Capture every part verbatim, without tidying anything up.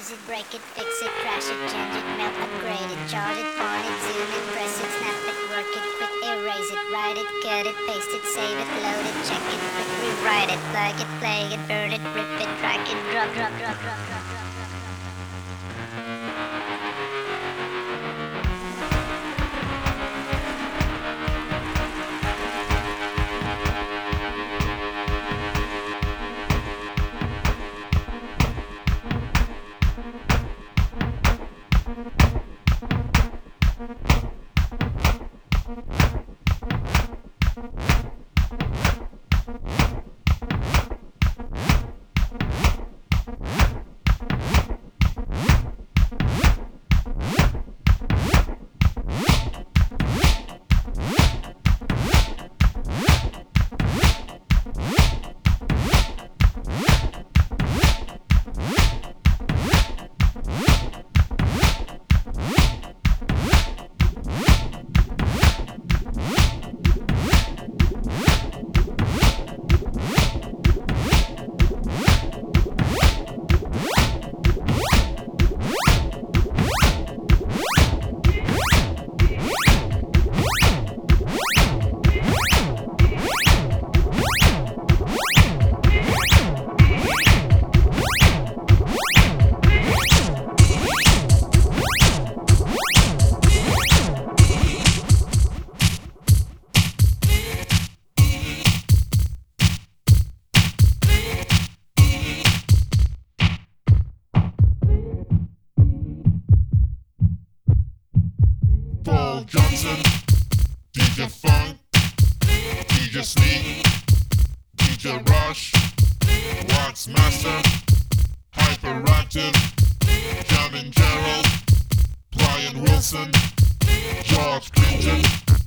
use it, break it, fix it, crash it, change it, melt, upgrade it, chart it, point it, zoom it, press it, snap it, work it, quick erase it, write it, cut it, paste it, save it, load it, check it, quick rewrite it, plug it, play it, burn it, rip it, drag it, drop, drop, drop, drop, drop, drop. Paul Johnson, D J Funk, D J Sneak, D J Rush, Wax Master, Hyperactive, Gavin Gerald, Brian Wilson, George Clinton,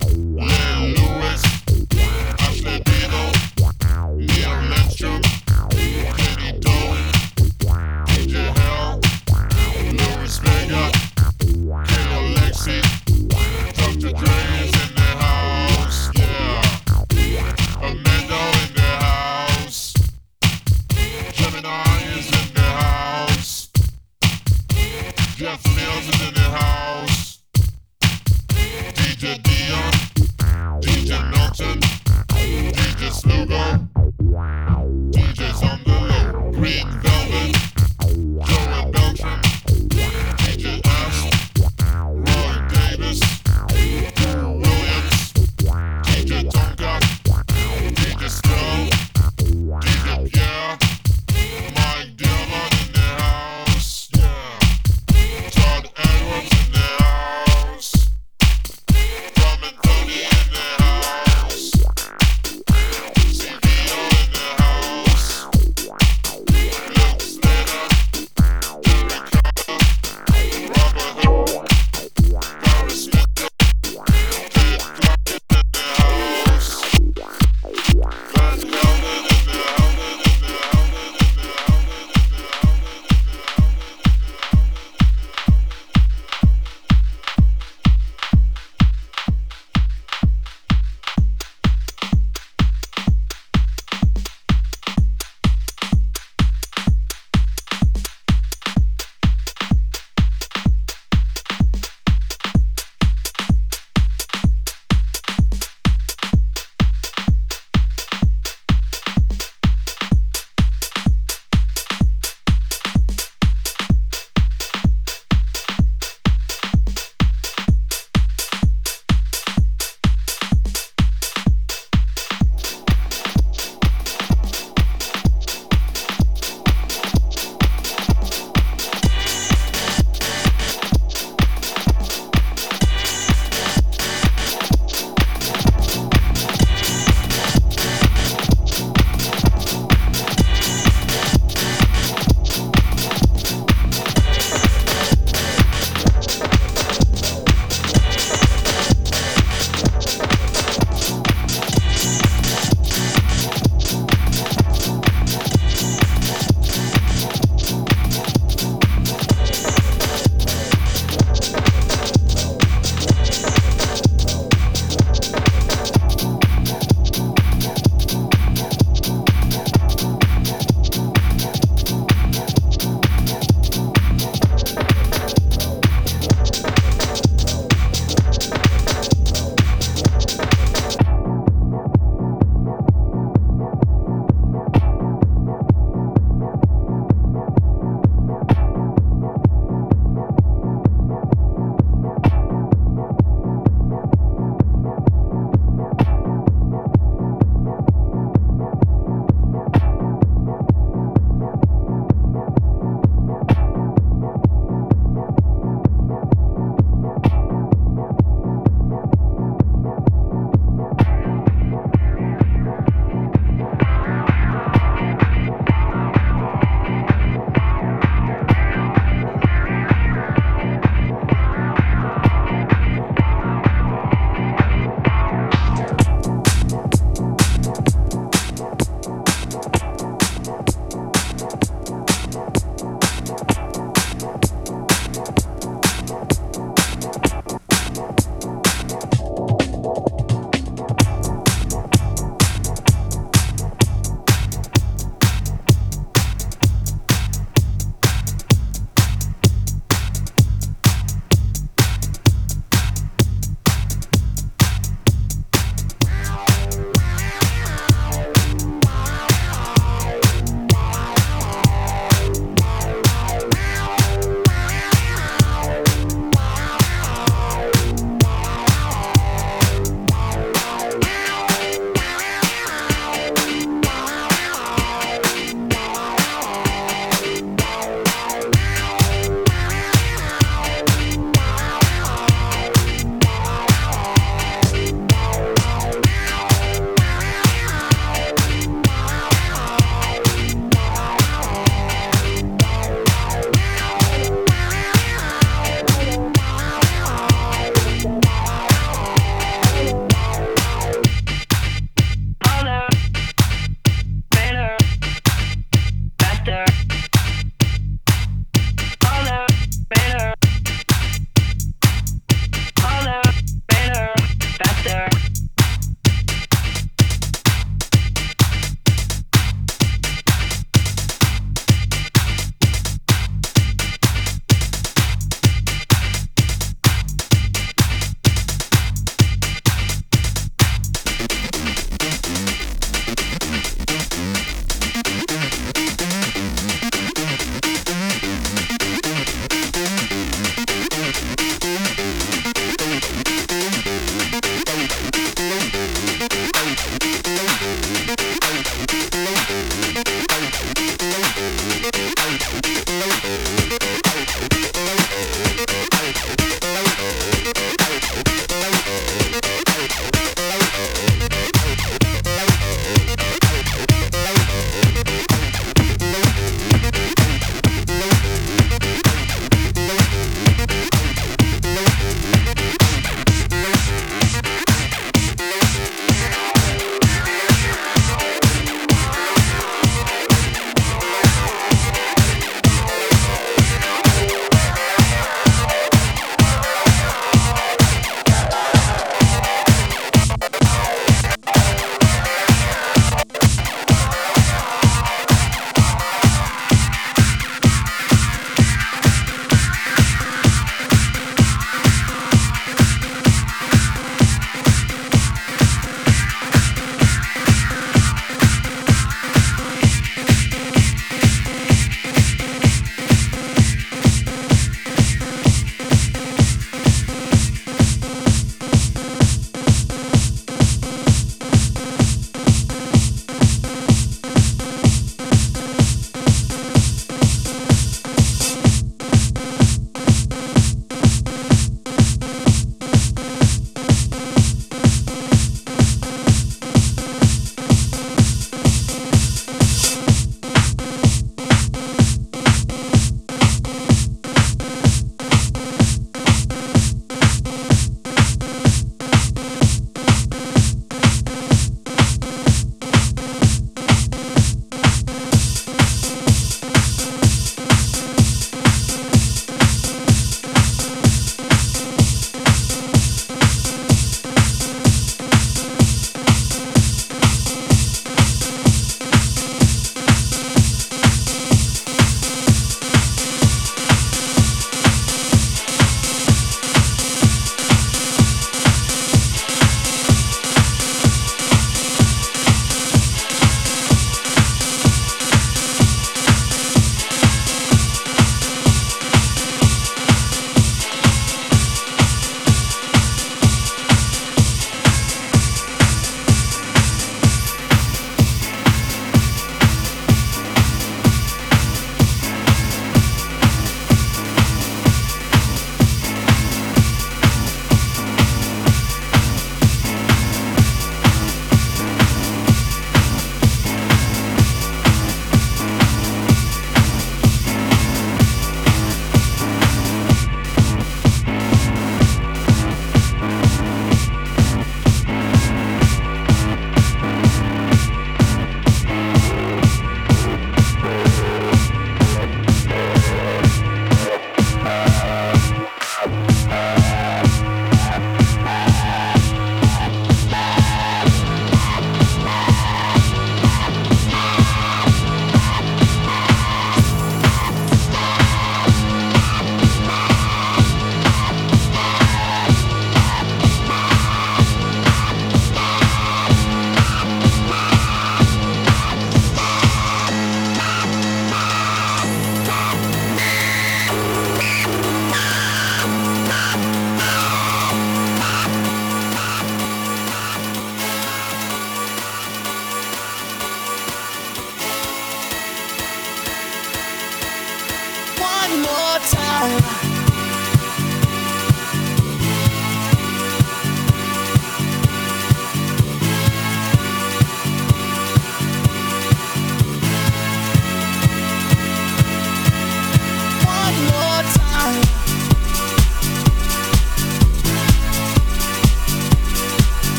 Len Lewis, Ashley Beadle, Neil Lindstrom, Katie Doe, D J Hell, Louis Vega, K Alexi, Doctor Dre is in the house, yeah. Amanda in the house. Gemini is in the house. Jeff Mills is in the house. D J Dion, D J Milton, D J Slugo, D Js on the low. Green Velvet, Joey Beltran, D J Ash, Roy Davis, Drew Williams, D J Tonka, D J Skull, D J Pierre, Mike Dillon in the house, yeah. Todd Edwards.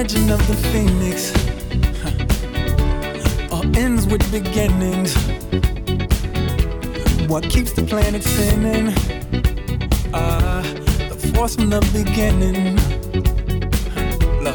legend of the phoenix huh. all ends with beginnings. What keeps the planet spinning? Uh, the force from the beginning. Love.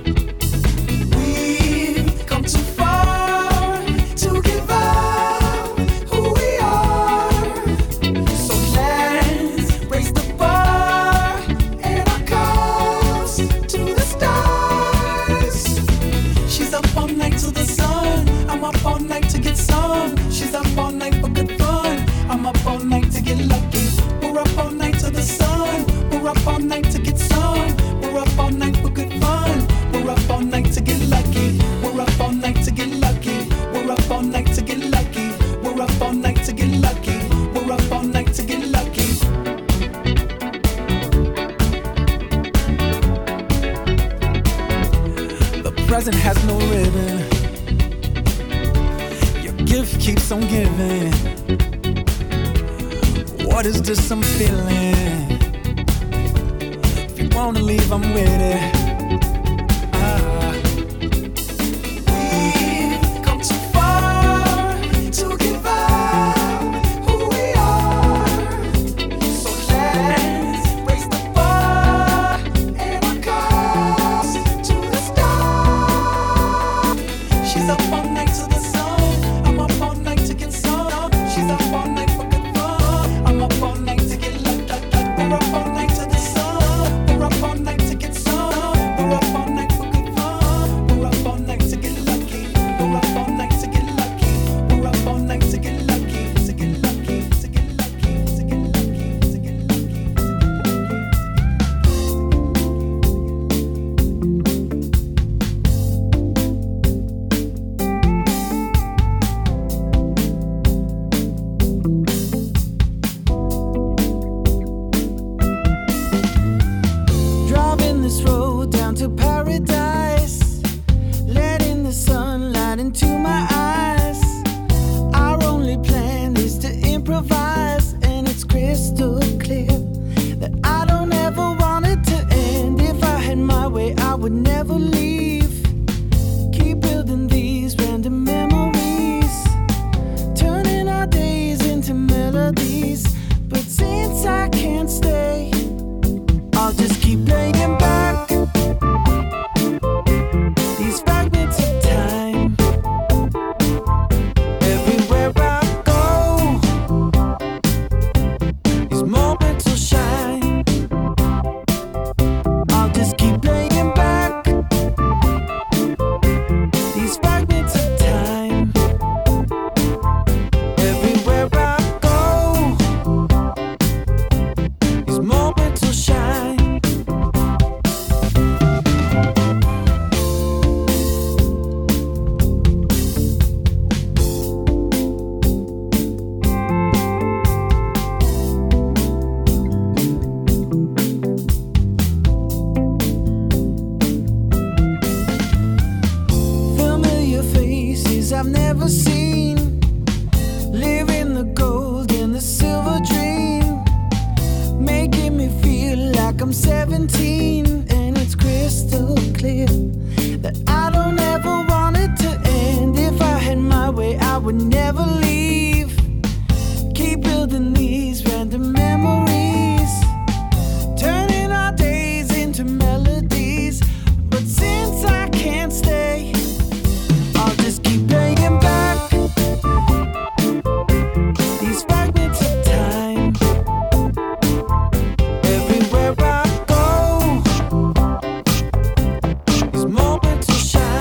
We've come too far to give up who we are. So let's raise the bar and our cups to the stars. She's up all night to the sun. I'm up all night to get some. She's up all night for good fun. I'm up all night to get lucky. We're up all night to the sun. We're up all night to get some. We're up all night for good fun. We're up all night to get lucky. We're up all night to get lucky. We're up all night to get lucky. We're up all night to get lucky. We're up all night to get lucky. The present has no ribbon. Your gift keeps on giving. What is this I'm feeling? If you wanna leave, I'm with it. Ah. We've come too far to give up who we are. So let's raise the bar and our cups to the stars. She's up all night to the sun. I'm up all night to get some. She's up all night for good fun. I'm up all night to get lucky. We're up all night to the sun. We're up all night to get some. We're up all night for good fun. We're up all night to get lucky. We're up all night to get lucky. We're up all night to get lucky. To get lucky. To get lucky. To get lucky. To get Driving this road down to paradise, letting the sunlight into my eyes. Our only plan is to improvise, and it's crystal clear that I don't ever want it to end. If I had my way, I would never leave. Keep building these random memories, turning our days into melodies. But since I can't stay, I'll just keep playing back these fragments of time. Everywhere I go, these moments will shine. I'll just keep playing back these fragments of time. Everywhere I go, these moments will shine. Familiar faces I've never seen, living the gold and the silver dream, making me feel like I'm seventeen. And it's crystal clear that I don't ever want it to end. If I had my way, I would never leave. Keep building these random memories, turning our days into melodies. But since I can't stay, I'll just keep playing back these fragments of time. Everywhere I go, these moments will shine.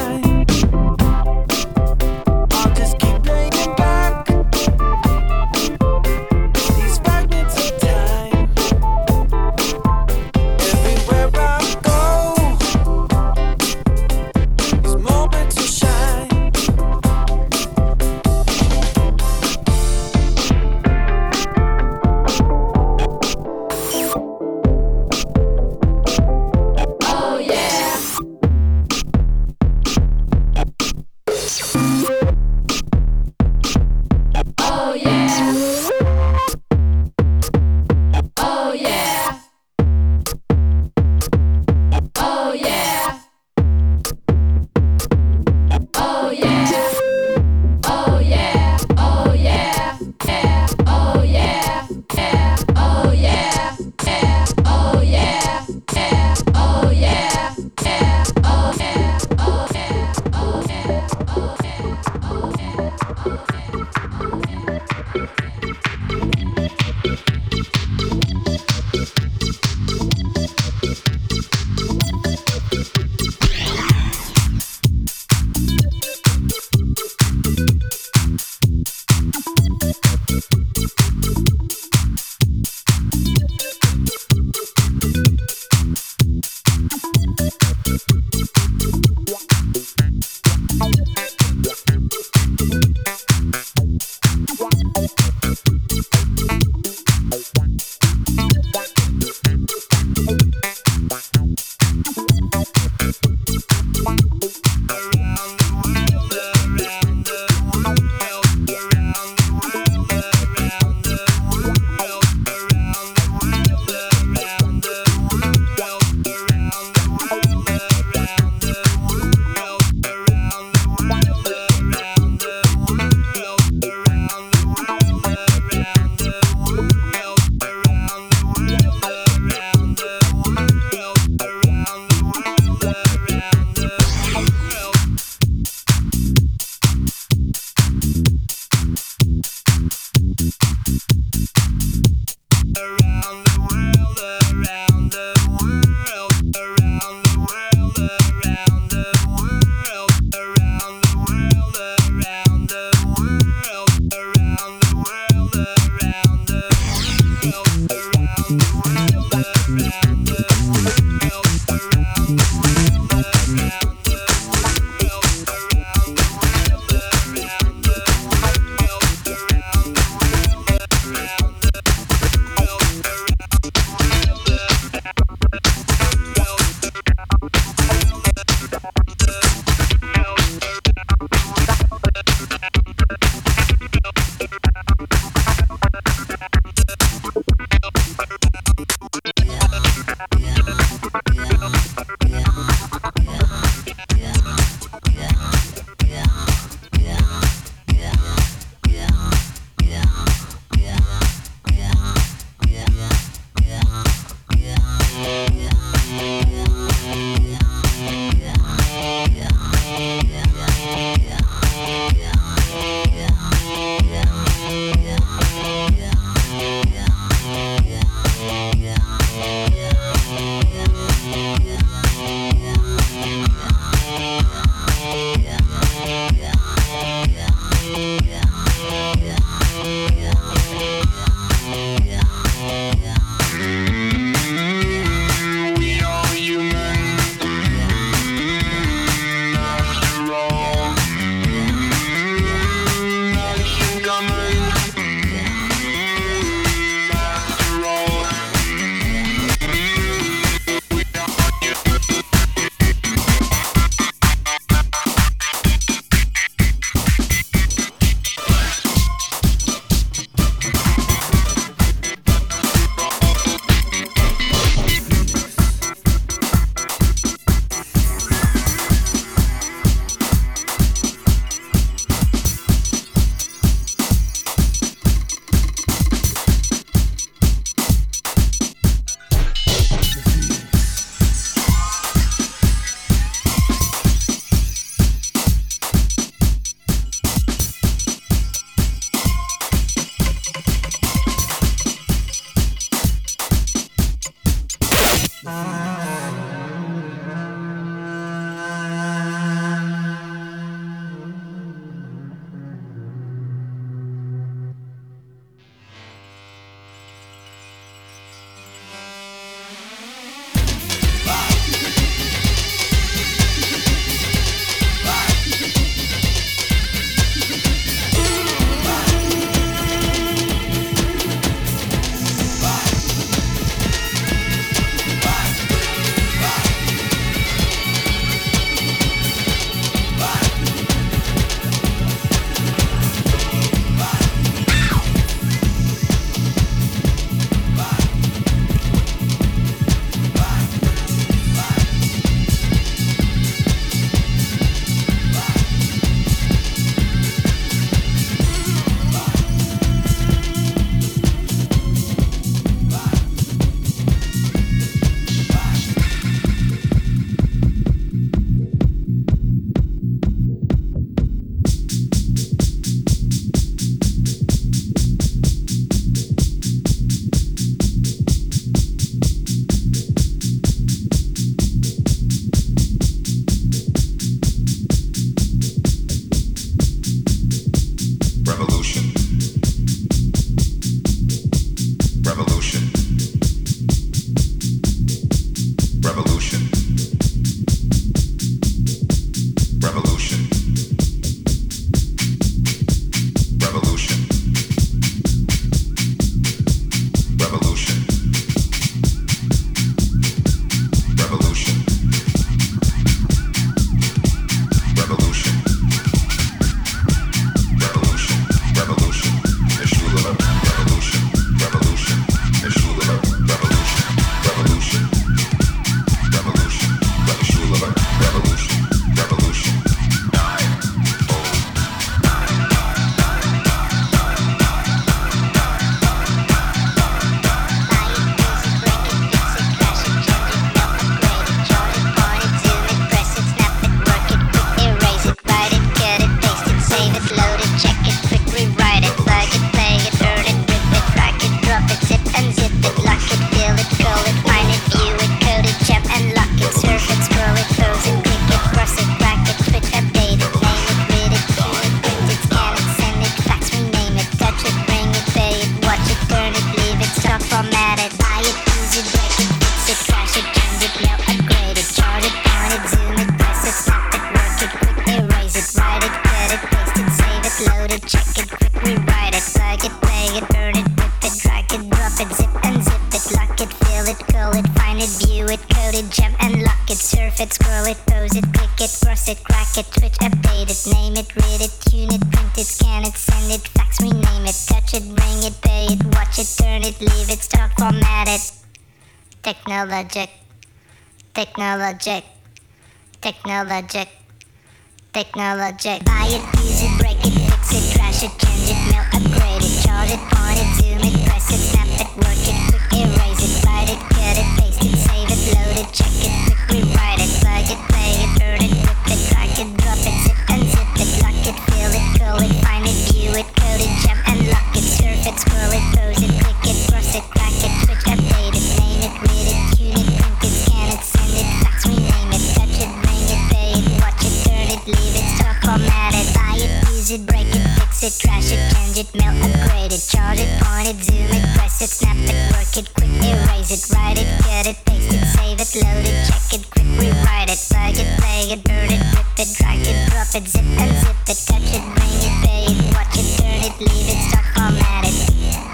find it, view it, code it, jump and lock it, surf it, scroll it, pose it, click it, cross it, crack it, switch, update it, name it, read it, tune it, print it, scan it, send it, fax, rename it, touch it, bring it, pay it, watch it, turn it, leave it, stock, format it. Technologic, technologic, technologic, technologic. Buy it, use it, break it, fix it, trash it, change it, mail, upgrade it, charge it, point it, zoom it, press it, snap it, work it, quick erase it, write it, cut it, paste it, save it, load it, check it, quick rewrite it, plug it, play it, burn it, rip it, drag it, drop it, zip unzip it, lock it, fill it, call it, find it, view it, code it, jump and lock it, surf it, scroll it, pose it, click it, cross it, crack it, switch, update it, name it, read it, tune it, print it, scan it, send it, fax, rename it, touch it, bring it, pay it, watch it, turn it, leave it, stock, format it, buy it, use it, break it, fix it, trash it, change it, mail, upgrade it, charge it, point it, zoom it, press it, snap it, work it, quick erase it, write it, cut it, paste it, save it, load it, check it, quick rewrite it, plug it, play it, burn it, rip it, drag it, drop it, zip unzip it, touch it, bring it, pay it, watch it, turn it, leave it, stock, format it.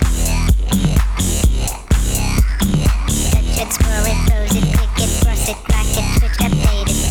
Touch it, scroll it, pose it, click it, cross it, crack it, switch, update it.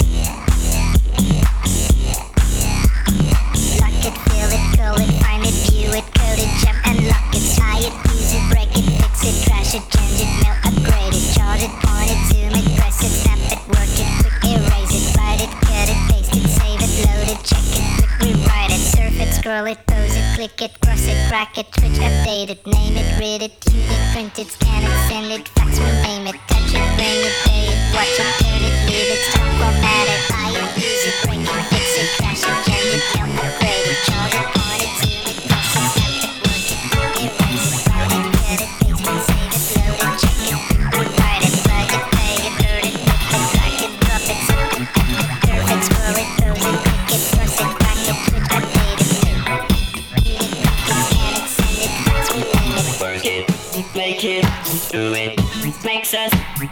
Lock it, fill it, call it, find it, view it, code it, jump and lock it, tie it, use it, break it, fix it, trash it, change it, mail, upgrade it, charge it, point it, zoom it, press it, snap it, work it, quick erase it, write it, cut it, paste it, save it, load it, check it, quick rewrite it, surf it, scroll it, pose it, click it, cross it, crack it, switch, update it, name it, read it, tune it, print it, scan it, send it, fax, rename it, touch it, bring it, pay it, watch it, turn it, leave it, stop, format it, buy it, use it, break it, fix it, trash it, change it, mail, upgrade it, charge it, point it, zoom it, press it, snap it, work it, quick erase it, write it, cut it, paste it, save it, load it, check it, rewrite it, plug it, play it, burn it, rip it, drag it, drop it, zip it, curve it, scroll it, pose it, click it, cross it, crack it, switch, update it, tune it, print it, scan it, send it, fax, rename it. Work it, make it, do it, makes us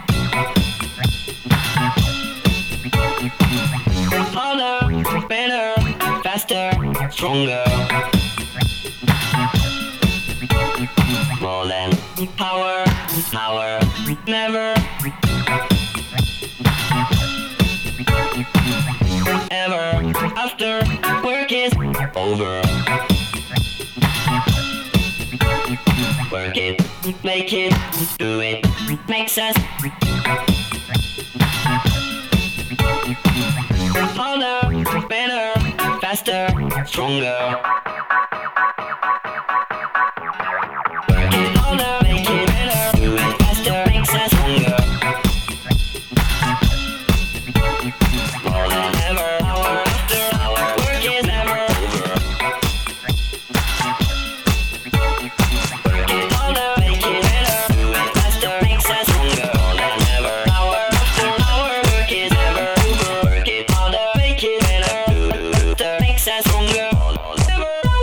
harder, better, faster, stronger. More than power, power, never, ever, after work is over. Work it, make it, do it, makes us harder, better, faster, stronger. Work it harder, make it better, do it faster, makes us stronger. More than ever, hour after hour, work is never over. Work it harder, make it better, do it faster, makes us stronger. More than ever, hour after hour, work is never over. Work it harder, make it better, do it faster, makes us stronger. More than ever.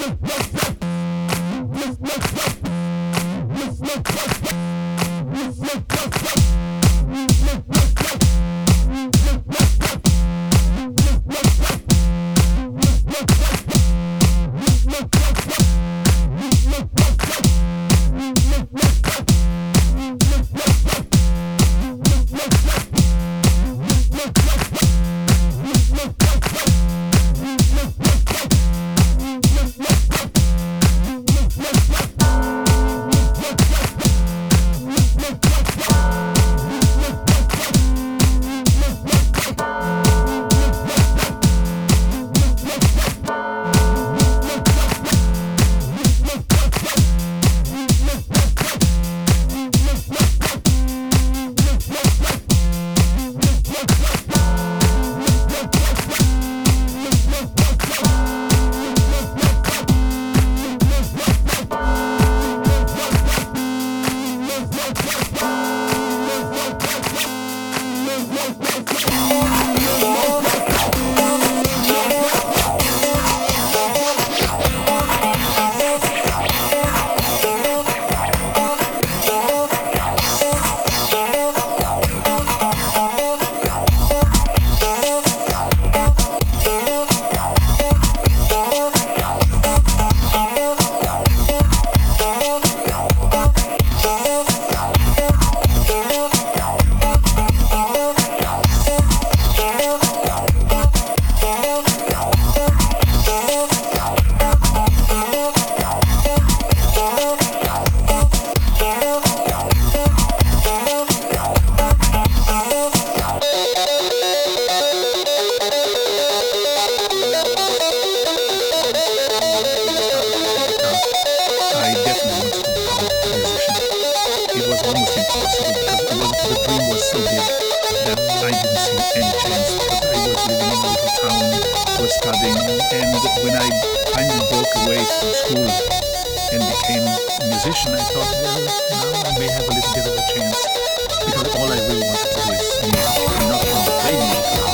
studying, and when I finally broke away from school and became a musician, I thought, well, now I may have a little bit of a chance, because all I really wanted to do is music, and not only play music.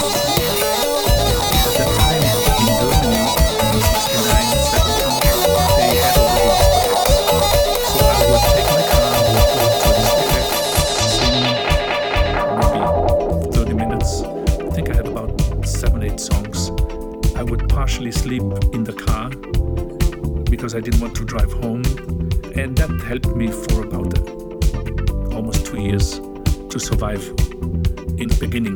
At that time in Germany, in sixty-nine, seventy, they had already discotheques. So I would take my car, I would go to a discotheque, sing maybe thirty minutes. I think I had about seven, eight songs. I would partially sleep in the car because I didn't want to drive home, and that helped me for about uh, almost two years to survive in the beginning.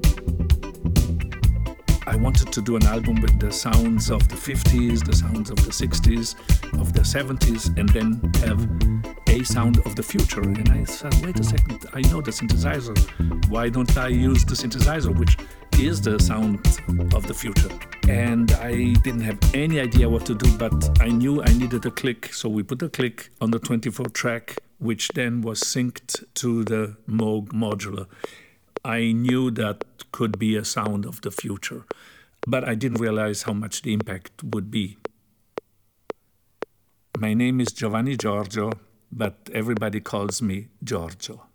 I wanted to do an album with the sounds of the fifties, the sounds of the sixties, of the seventies, and then have a sound of the future. And I said, wait a second, I know the synthesizer. Why don't I use the synthesizer, which is the sound of the future? And I didn't have any idea what to do, but I knew I needed a click. So we put a click on the twenty-four track, which then was synced to the Moog modular. I knew that could be a sound of the future, but I didn't realize how much the impact would be. My name is Giovanni Giorgio, but everybody calls me Giorgio.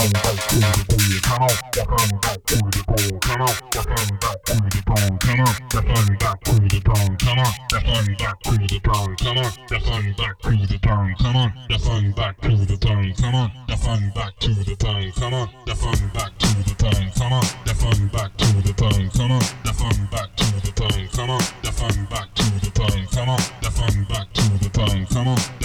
fun back to the bone. Come on, the fun back to the bone. Come on, the fun back to the bone. Come on, the fun back to the bone. Come on, the fun back to the bone. Come on, the fun back to the bone. Come on, the fun back to the bone. Come on, the fun back to the bone. Come on, the fun back to the bone. Come on, the fun back to the bone. Come on, the fun back to the bone. Come on, the fun back to the bone. Come on, the fun back to the bone. Come on.